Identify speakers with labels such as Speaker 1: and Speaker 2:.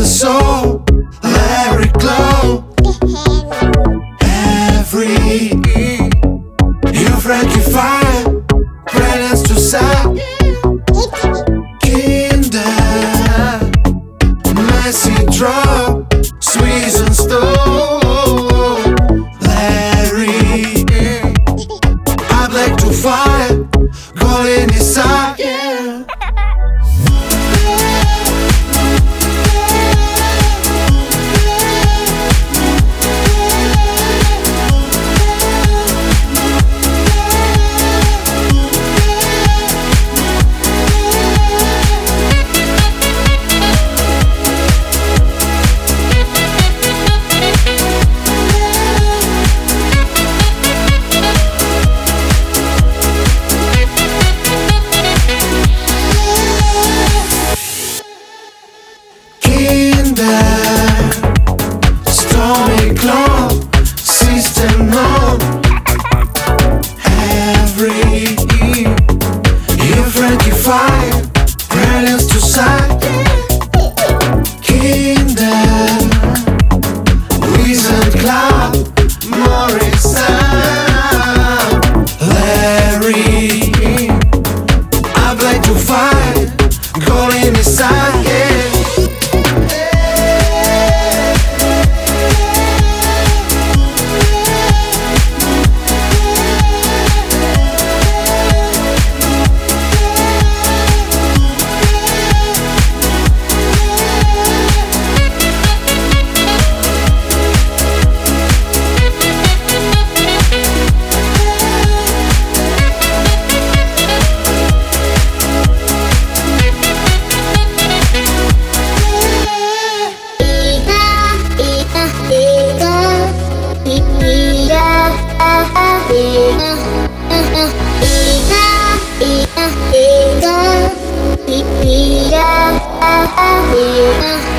Speaker 1: the soul, Larry Glow. Every you Frankie Fire, brilliance to sight. Kinder, messy drop, sweet and stone. Larry, I like to fight, go inside, yeah. Stormy cloud, system on. Every you Frankie Fire, brilliance to sight. Kingdom, Wizard Club, Morrison, Larry, I play to fight, calling inside, yeah.
Speaker 2: Yeah.